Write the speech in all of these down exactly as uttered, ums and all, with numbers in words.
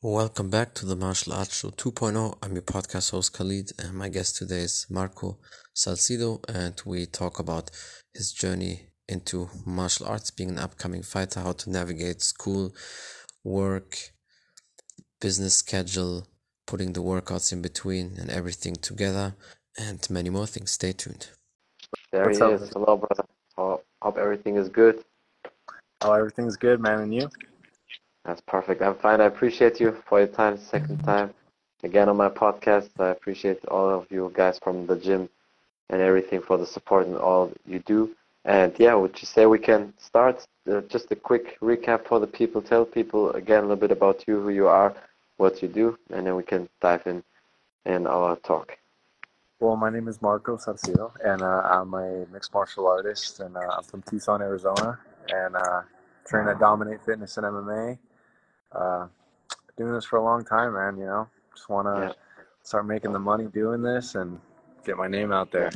Welcome back to the Martial Arts Show 2.0. I'm your podcast host Khalid, and my guest today is Marco Salcido, and we talk about his journey into martial arts, being an upcoming fighter, how to navigate school, work, business schedule, putting the workouts in between, and everything together, and many more things. Stay tuned. There he What's up? is. Hello, brother. Hope, hope everything is good. Oh, everything's good, man. And you? That's perfect. I'm fine. I appreciate you for your time, second time. Again on my podcast. I appreciate all of you guys from the gym and everything for the support and all you do. And yeah, would you say we can start? Uh, just a quick recap for the people. Tell people again a little bit about you, who you are, what you do, and then we can dive in in our talk. Well, my name is Marco Salcido, and uh, I'm a mixed martial artist, and uh, I'm from Tucson, Arizona, and uh, train at Dominate Fitness and M M A. Uh, doing this for a long time, man. You know, just want to Yeah. start making the money doing this and get my name out there.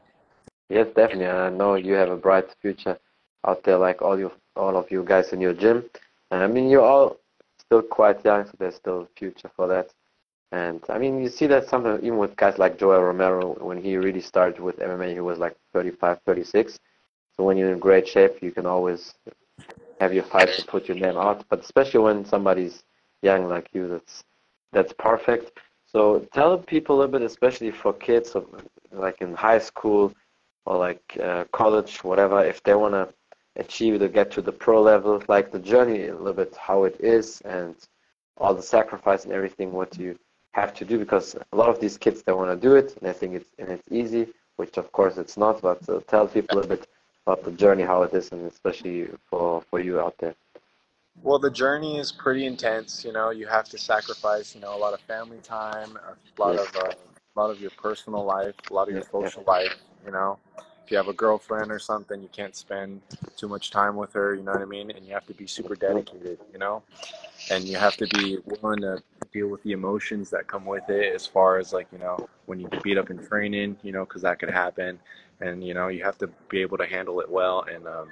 Yes, definitely. I know you have a bright future out there, like all you, all of you guys in your gym. And I mean, you're all still quite young, so there's still a future for that. And I mean, you see that sometimes even with guys like Joel Romero, when he really started with M M A, he was like thirty-five, thirty-six. So when you're in great shape, you can always have your fights and put your name out. But especially when somebody's young like you, that's that's perfect. So tell people a little bit, especially for kids, of, like in high school or like uh, college, whatever, if they want to achieve to get to the pro level, like the journey a little bit, how it is, and all the sacrifice and everything, what you have to do, because a lot of these kids, they want to do it, and they think it's and it's easy, which of course it's not, but uh, tell people a little bit about the journey, how it is, and especially for, for you out there. Well, the journey is pretty intense. You know, you have to sacrifice, you know, a lot of family time, a lot Yes. of uh, a lot of your personal life, a lot of Yeah, your yeah, social life. You know, if you have a girlfriend or something, you can't spend too much time with her. You know what I mean? And you have to be super yeah, dedicated. You know, and you have to be willing to deal with the emotions that come with it, as far as like, you know, when you get beat up in training, you know, because that could happen, and you know, you have to be able to handle it well and um,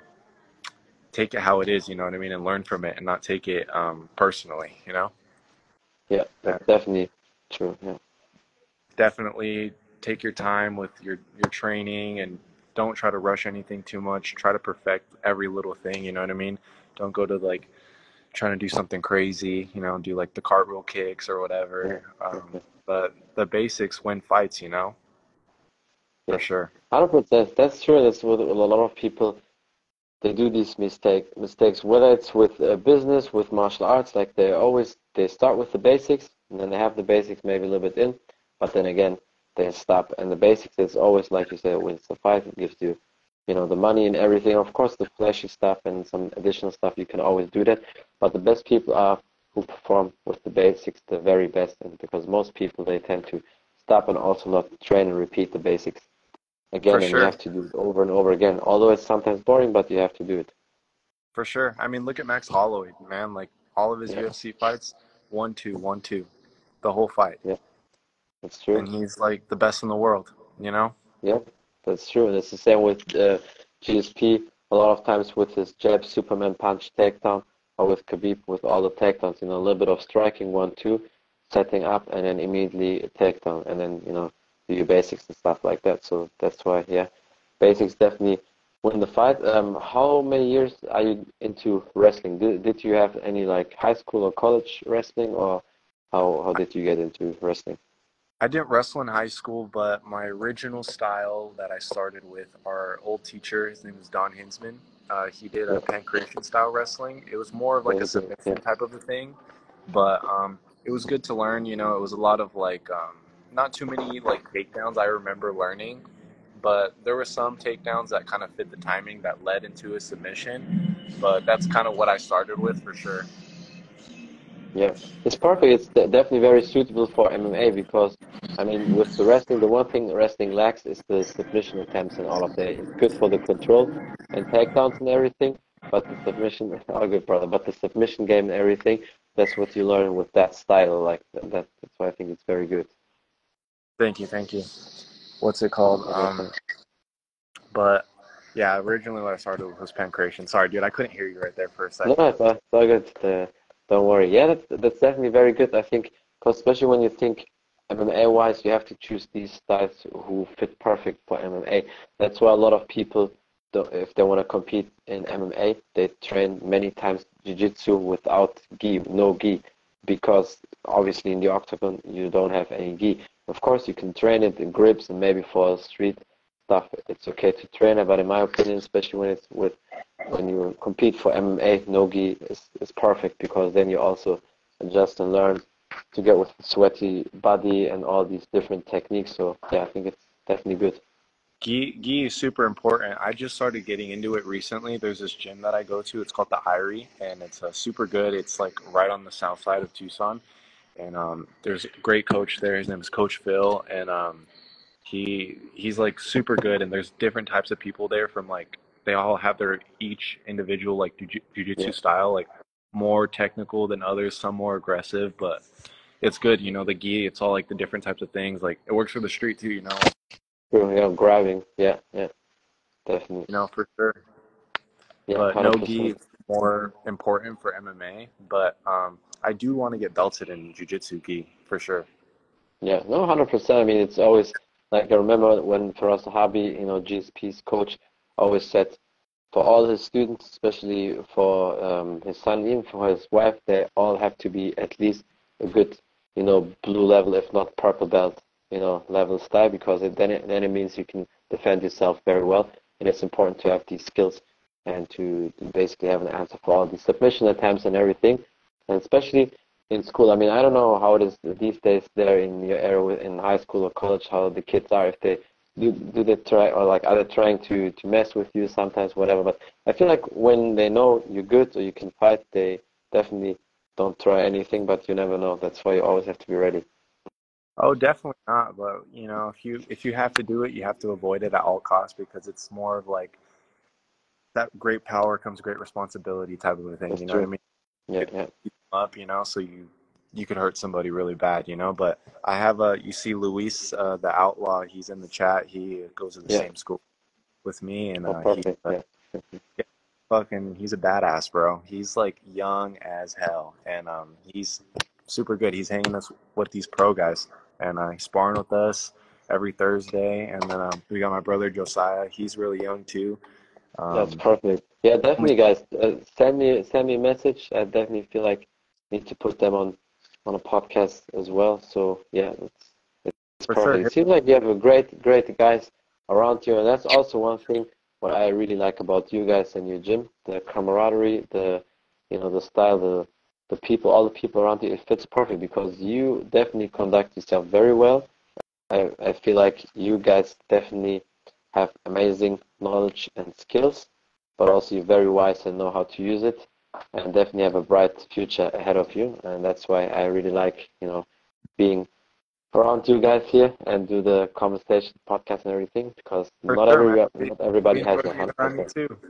take it how it is, you know what I mean, and learn from it and not take it um, personally, you know. yeah, And that's definitely true. Yeah, definitely take your time with your your training and don't try to rush anything too much. Try to perfect every little thing, you know what I mean. Don't go to like trying to do something crazy, you know, do like the cartwheel kicks or yeah, whatever. Um, okay. but the basics win fights, you know, for Yes, sure. one hundred percent. That's true. That's what a lot of people, they do these mistake mistakes, whether it's with uh, business, with martial arts, like they always they start with the basics, and then they have the basics maybe a little bit in, but then again they stop. And the basics is always, like you said, when it's a fight, it gives you, you know, the money and everything. Of course, the flashy stuff and some additional stuff, you can always do that. But the best people are who perform with the basics, the very best, and because most people, they tend to stop and also not train and repeat the basics For again, and you sure. have to do it over and over again. Although it's sometimes boring, but you have to do it. For sure. I mean, look at Max Holloway, man. Like all of his Yeah, U F C fights, one, two, one, two, the whole fight. yeah, that's true. And he's like the best in the world, you know? Yeah, that's true. And it's the same with uh, G S P. A lot of times with his jab, Superman punch, takedown, or with Khabib with all the takedowns. You know, a little bit of striking, one, two, setting up, and then immediately a takedown, and then you know do your basics and stuff like that. So that's why, yeah, basics definitely win the fight. Um, how many years are you into wrestling? Did did you have any like high school or college wrestling, or how how did you get into wrestling? I didn't wrestle in high school, but my original style that I started with, our old teacher, his name is Don Hinsman. Uh, he did a Yeah, pancration style wrestling. It was more of like a very good. Yeah, submission type of a thing, but um, it was good to learn. You know, it was a lot of like um, not too many like takedowns I remember learning, but there were some takedowns that kind of fit the timing that led into a submission. But that's kind of what I started with for sure. yeah, it's perfect. It's de- definitely very suitable for M M A because, I mean, with the wrestling, the one thing wrestling lacks is the submission attempts and all of that. It's good for the control and takedowns and everything, but the submission, oh good brother, but the submission game and everything, that's what you learn with that style. Like that, that- that's why I think it's very good. Thank you, thank you. What's it called? Yeah, Um, definitely. But yeah, originally what I started with was pancreation. Sorry, dude, I couldn't hear you right there for a No, second. it's all, it's all good. Don't worry. Yeah, that's that's definitely very good. I think, 'cause especially when you think M M A wise, you have to choose these styles who fit perfect for M M A. That's why a lot of people, do, if they want to compete in M M A, they train many times jiu-jitsu without gi, no gi, because obviously in the octagon you don't have any gi. Of course, you can train it in grips and maybe for street stuff, it's okay to train it. But in my opinion, especially when it's with when you compete for M M A, no gi is, is perfect because then you also adjust and learn to get with sweaty body and all these different techniques. So yeah, I think it's definitely good. Gi, gi is super important. I just started getting into it recently. There's this gym that I go to. It's called the Irie, and it's uh, super good. It's like right on the south side of Tucson, and um, there's a great coach there. His name is Coach Phil, and um, he he's like super good. And there's different types of people there from like they all have their each individual like jiu- Yeah, jujitsu style, like more technical than others, some more aggressive, but it's good. You know, the gi, it's all like the different types of things. Like it works for the street too. You know, true. Yeah, grabbing. Yeah, yeah, definitely. you know for sure. Yeah, But no gi one hundred percent. is more important for M M A. But um, I do want to get belted in jiu-jitsu gi for sure. Yeah, no, one hundred percent. I mean, it's always like I remember when Faraz Sahabi, you know, G S P's coach, always said for all his students, especially for um, his son, even for his wife, they all have to be at least a good, you know, blue level, if not purple belt, you know, level style, because it, then it, then it means you can defend yourself very well, and it's important to have these skills and to, to basically have an answer for all these submission attempts and everything, and especially in school. I mean, I don't know how it is these days there in your area with- in high school or college, how the kids are, if they do, do they try or like are they trying to, to mess with you sometimes, whatever. But I feel like when they know you're good or you can fight, they definitely don't try anything, but you never know. That's why you always have to be ready. Oh, definitely not. But you know, if you if you have to do it, you have to avoid it at all costs because it's more of like that great power comes great responsibility type of a thing. That's You know what I true. mean? Yeah, Could yeah, keep them up, you know, so you you could hurt somebody really bad, you know. But I have a you see Luis, uh, the outlaw. He's in the chat. He goes to the yeah. same school with me, and Oh, uh, he perfect. uh, Yeah. yeah, fucking he's a badass, bro. He's like young as hell, and um, he's super good. He's hanging us with these pro guys, and uh, he's sparring with us every Thursday. And then um, we got my brother Josiah. He's really young too. That's Um, perfect. Yeah, only definitely, guys. Uh, send me send me a message. I definitely feel like need to put them on on a podcast as well. So yeah, it's it's for sure. perfect. It seems like you have a great great guys around you, and that's also one thing what I really like about you guys and your gym, the camaraderie, the you know the style, the the people, all the people around you. It fits perfect because you definitely conduct yourself very well. I, I feel like you guys definitely have amazing knowledge and skills, but also you're very wise and know how to use it, and definitely have a bright future ahead of you. And that's why I really like, you know, being around you guys here and do the conversation, podcast, and everything, because For not sure, man. every We, not everybody we has enjoy a being hundred around you percent. too.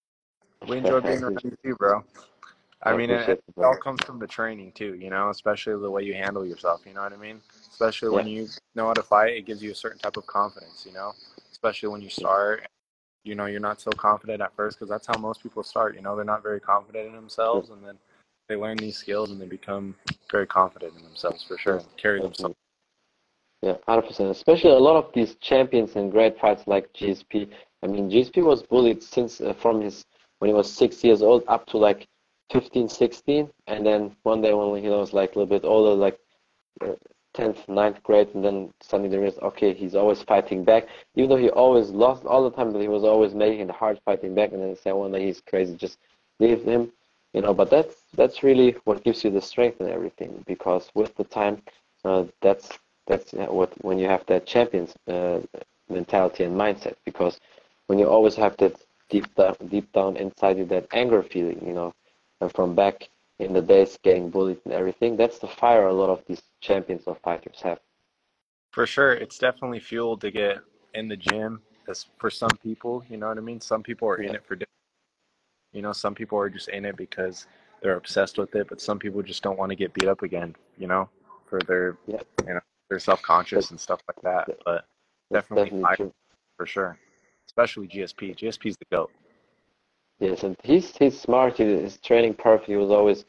We enjoy I being around appreciate you too, bro. I I mean, it, appreciate it it, bro. all comes from the training too, you know, especially the way you handle yourself. You know what I mean? Especially Yeah, when you know how to fight, it gives you a certain type of confidence. You know, especially when you yeah, start. You know, you're not so confident at first because that's how most people start. You know, they're not very confident in true. themselves, and then they learn these skills and they become very confident in themselves for sure Yeah, and carry themselves. definitely. Yeah, one hundred percent. Especially a lot of these champions and great fights like G S P. I mean, G S P was bullied since uh, from his when he was six years old up to like fifteen, sixteen, and then one day when he was like a little bit older, like uh, tenth, ninth grade, and then suddenly there is okay, he's always fighting back, even though he always lost all the time, but he was always making it hard fighting back, and then say one day he's crazy, just leave him, you know. But that's that's really what gives you the strength and everything, because with the time, uh, that's that's uh, what when you have that champions uh, mentality and mindset, because when you always have that deep down, deep down inside you that anger feeling, you know, and from back in the days getting bullied and everything. That's the fire a lot of these champions or fighters have. For sure, it's definitely fuel to get in the gym. As for some people, you know what I mean. Some people are in Yeah, it for, you know, some people are just in it because they're obsessed with it, but some people just don't want to get beat up again, you know, for their, yeah, you know, they're self-conscious that, and stuff like that. that, But that's definitely definitely fight true. for sure, especially G S P. G S P's the goat. Yes, and he's he's smart. He is training perfect. He was always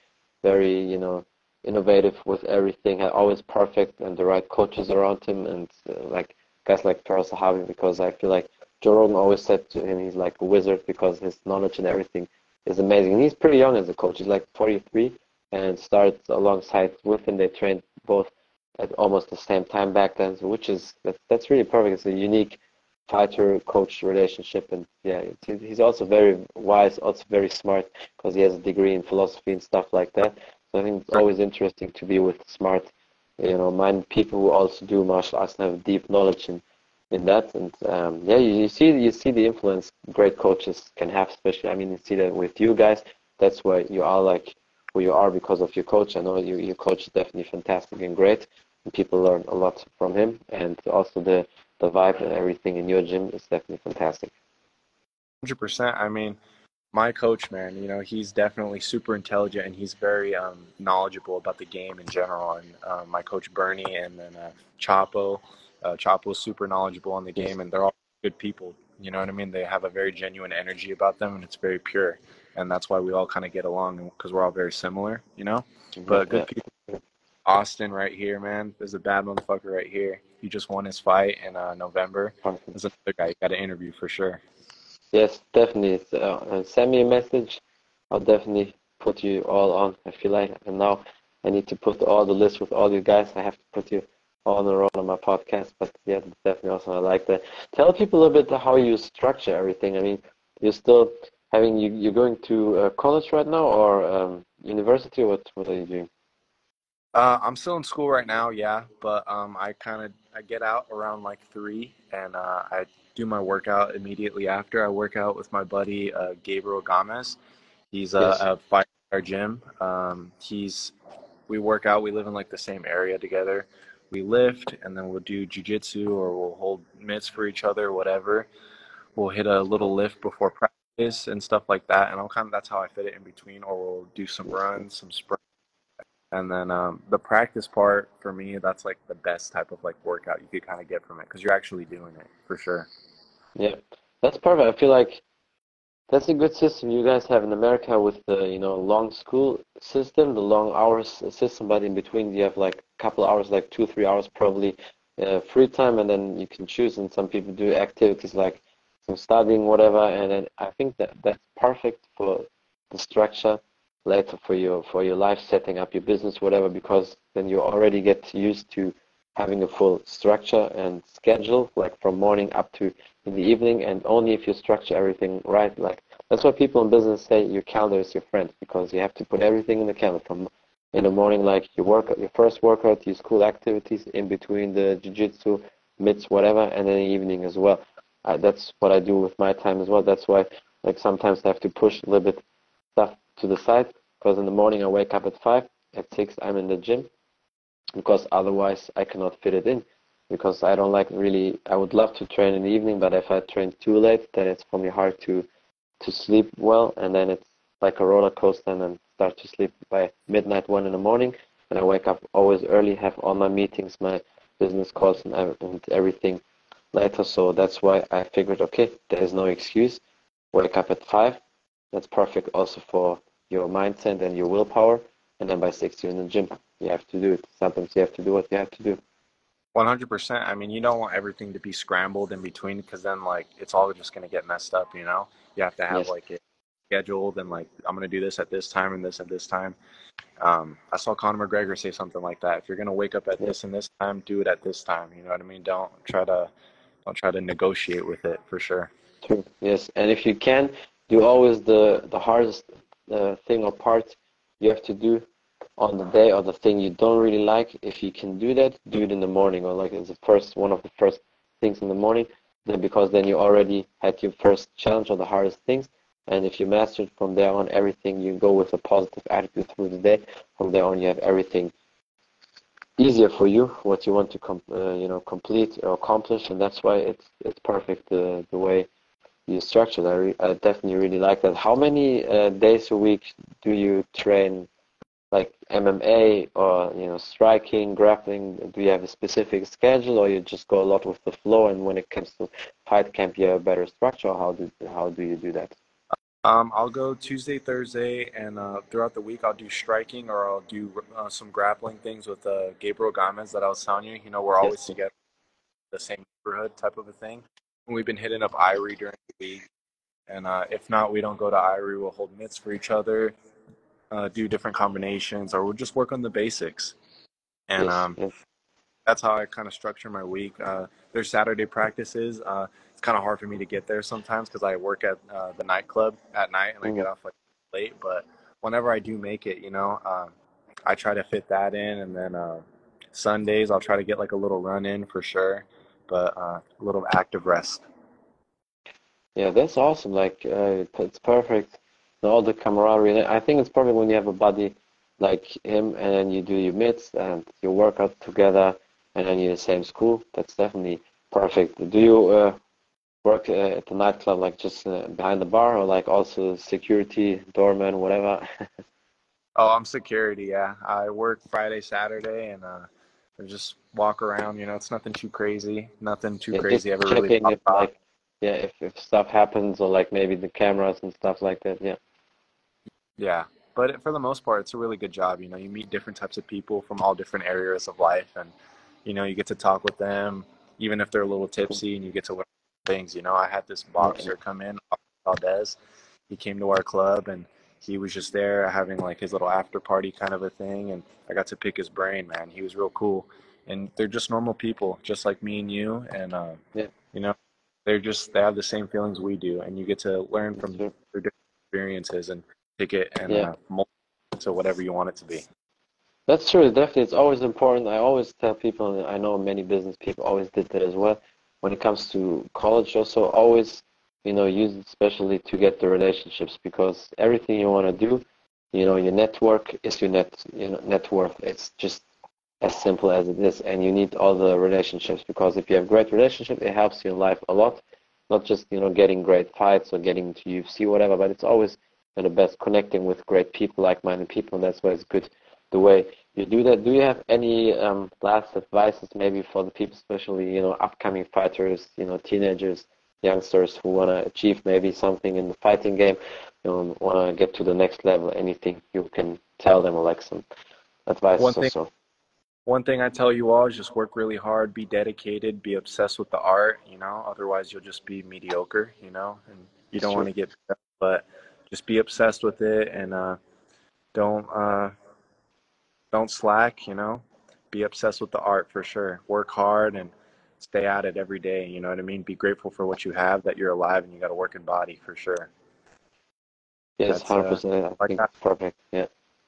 very, you know, innovative with everything, had always perfect and the right coaches around him, and uh, like guys like Charles Sahabi, because I feel like Joe Rogan always said to him he's like a wizard because his knowledge and everything is amazing. And he's pretty young as a coach. He's like forty-three and started alongside with him. They trained both at almost the same time back then, so which is that's, that's really perfect. It's a unique fighter-coach relationship, and yeah, it's, he's also very wise, also very smart because he has a degree in philosophy and stuff like that. So I think it's always interesting to be with smart, you know, minded people who also do martial arts and have deep knowledge in in that. And um, yeah, you, you see you see the influence great coaches can have, especially. I mean, you see that with you guys. That's why you are like who you are because of your coach. I know you, your coach is definitely fantastic and great, and people learn a lot from him. And also the the vibe and everything in your gym is definitely fantastic. one hundred percent. I mean, my coach, man, you know, he's definitely super intelligent and he's very um, knowledgeable about the game in general. And uh, my coach Bernie and then uh, Chapo, uh, Chapo's super knowledgeable on the game, and they're all good people. You know what I mean? They have a very genuine energy about them, and it's very pure. And that's why we all kind of get along because we're all very similar, you know? But good people. Austin right here, man. There's a bad motherfucker right here. He just won his fight in uh, November. There's another guy you got to interview for sure. Yes, definitely. Uh, send me a message. I'll definitely put you all on. I feel like, and now I need to put all the list with all you guys. I have to put you all in a row on my podcast. But yeah, definitely also I like that. Tell people a little bit how you structure everything. I mean, you're still having you you're going to uh, college right now or um, university. Or what what are you doing? Uh, I'm still in school right now, yeah, but um, I kind of I get out around like three, and uh, I do my workout immediately after. I work out with my buddy uh, Gabriel Gomez. He's uh, Yes. a fighter at our gym. Um, he's we work out. We live in like the same area together. We lift, and then we'll do jujitsu, or we'll hold mitts for each other, whatever. We'll hit a little lift before practice and stuff like that. And I'll kind of that's how I fit it in between, or we'll do some runs, some sprints. And then um, the practice part for me, that's like the best type of like workout you could kind of get from it because you're actually doing it for sure. Yeah, that's perfect. I feel like that's a good system you guys have in America with the, you know, long school system, the long hours system, but in between you have like a couple hours, like two, three hours probably uh, free time, and then you can choose. And some people do activities like some studying, whatever. And then I think that that's perfect for the structure later for your for your life, setting up your business, whatever, because then you already get used to having a full structure and schedule, like from morning up to in the evening. And only if you structure everything right, like that's why people in business say your calendar is your friend, because you have to put everything in the calendar from in the morning, like your workout, your first workout, your school activities, in between the jiu-jitsu, mitts, whatever, and then the evening as well. Uh, that's what I do with my time as well. That's why, like, sometimes I have to push a little bit stuff to the side, because in the morning I wake up at five, at six I'm in the gym, because otherwise I cannot fit it in, because I don't like really, I would love to train in the evening, but if I train too late, then it's for me hard to to sleep well, and then it's like a roller coaster, and then start to sleep by midnight, one in the morning, and I wake up always early, have all my meetings, my business calls and, and everything later. So that's why I figured, okay, there is no excuse, wake up at five, that's perfect also for your mindset and your willpower, and then by six you're in the gym. You have to do it. Sometimes you have to do what you have to do. one hundred percent. I mean, you don't want everything to be scrambled in between, because then like it's all just going to get messed up, you know? You have to have Yes. like it scheduled, and like I'm going to do this at this time and this at this time. Um, I saw Conor McGregor say something like that. If you're going to wake up at Yes. this and this time, do it at this time. You know what I mean? Don't try to don't try to negotiate with it, for sure. True. Yes. And if you can, do always the the hardest uh, thing or part you have to do on the day, or the thing you don't really like. If you can do that, do it in the morning, or like it's the first one of the first things in the morning, then because then you already had your first challenge or the hardest things. And if you master it from there on, everything, you go with a positive attitude through the day. From there on, you have everything easier for you, what you want to com- uh, you know complete or accomplish, and that's why it's it's perfect the the way you structure. I, re- I definitely really like that. How many uh, days a week do you train, like M M A or you know striking, grappling? Do you have a specific schedule, or you just go a lot with the flow? And when it comes to fight camp, you have a better structure. Or how do how do you do that? Um, I'll go Tuesday, Thursday, and uh, throughout the week I'll do striking or I'll do uh, some grappling things with uh, Gabriel Gomez that I was telling you. You know, we're Yes. always together, the same neighborhood type of a thing. And we've been hitting up Irie during the week, and uh, if not, we don't go to Irie. We'll hold mitts for each other, uh, do different combinations, or we'll just work on the basics. And Yes. um, Yes. that's how I kind of structure my week. Uh, there's Saturday practices. Uh, it's kind of hard for me to get there sometimes because I work at uh, the nightclub at night and I get Mm. off like late. But whenever I do make it, you know, um, I try to fit that in. And then uh, Sundays, I'll try to get like a little run in for sure, but uh, a little active rest. Yeah, that's awesome. Like, uh, it's perfect. All the camaraderie. I think it's perfect when you have a buddy like him, and then you do your mitts and you work out together, and then you're in the same school. That's definitely perfect. Do you uh, work uh, at the nightclub, like just uh, behind the bar, or like also security, doorman, whatever? Oh, I'm security. Yeah, I work Friday, Saturday, and uh, I just walk around. You know, it's nothing too crazy. Nothing too Yeah, just crazy ever really checking if popped off. like, yeah, if if stuff happens, or like maybe the cameras and stuff like that. Yeah. Yeah, but for the most part, it's a really good job. You know, you meet different types of people from all different areas of life, and you know, you get to talk with them, even if they're a little Cool. tipsy, and you get to learn things. You know, I had this Yeah, yeah. boxer come in, Valdez. He came to our club, and he was just there having like his little after party kind of a thing, and I got to pick his brain. Man, he was real cool, and they're just normal people, just like me and you, and uh, Yeah, you know, they're just they have the same feelings we do, and you get to learn that's from true. their different experiences and take it and Yeah. uh, mold it to whatever you want it to be. That's true. Definitely, it's always important. I always tell people, and I know many business people always did that as well. When it comes to college, also always, you know, use it especially to get the relationships, because everything you want to do, you know, your network is your net, you know, net worth. It's just as simple as it is, and you need all the relationships, because if you have great relationship, it helps you in life a lot. Not just, you know, getting great fights or getting to U F C, whatever, but it's always, you know, the best connecting with great people, like-minded people, and that's why it's good the way you do that. Do you have any um, last advices maybe for the people, especially, you know, upcoming fighters, you know, teenagers, youngsters who want to achieve maybe something in the fighting game, you know, want to get to the next level? Anything you can tell them, or like some One advice or thing, so? one thing I tell you all is just work really hard, be dedicated, be obsessed with the art. You know, otherwise you'll just be mediocre. You know, and you It's don't want true. to get, but just be obsessed with it and uh, don't uh, don't slack. You know, be obsessed with the art for sure. Work hard and stay at it every day. You know what I mean? Be grateful for what you have, that you're alive and you got a working body for sure. Yes, That's uh one hundred percent. I like think that. that's perfect. Yeah,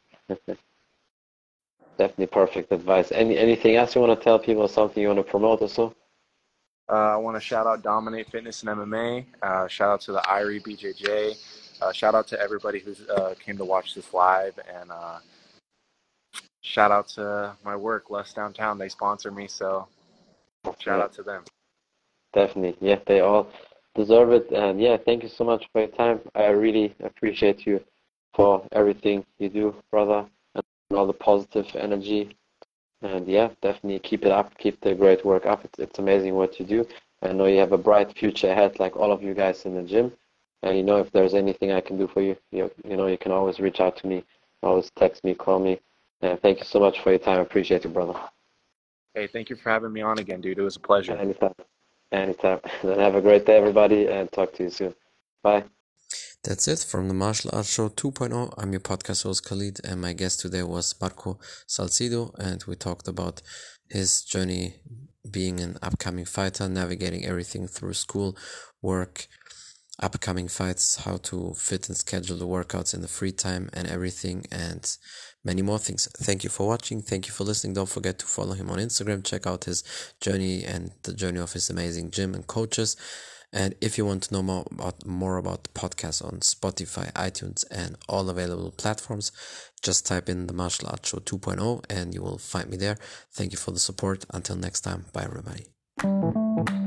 definitely perfect advice. Any anything else you want to tell people, something you want to promote or so? Uh, I want to shout out Dominate Fitness and M M A. Uh, shout out to the Irie B J J. Uh, shout out to everybody who uh, came to watch this live, and uh, shout out to my work, Less Downtown. They sponsor me, so shout Yeah, out to them. definitely. Yeah, they all deserve it. And yeah, thank you so much for your time. I really appreciate you for everything you do, brother, and all the positive energy. And yeah, definitely keep it up. Keep the great work up. It's, it's amazing what you do. I know you have a bright future ahead, like all of you guys in the gym. And you know, if there's anything I can do for you, you, you know, you can always reach out to me. Always text me, call me. And thank you so much for your time. I appreciate you, brother. Hey, thank you for having me on again, dude. It was a pleasure. Anytime. Anytime. Then have a great day, everybody, and talk to you soon. Bye. That's it from the Martial Arts Show 2.0. I'm your podcast host Khalid, and my guest today was Marco Salcido, and we talked about his journey being an upcoming fighter, navigating everything through school, work, upcoming fights, how to fit and schedule the workouts in the free time and everything, and many more things. Thank you for watching. Thank you for listening. Don't forget to follow him on Instagram. Check out his journey and the journey of his amazing gym and coaches. And if you want to know more about more about the podcast on Spotify, iTunes, and all available platforms, just type in the Martial Arts Show 2.0 and you will find me there. Thank you for the support. Until next time, bye everybody.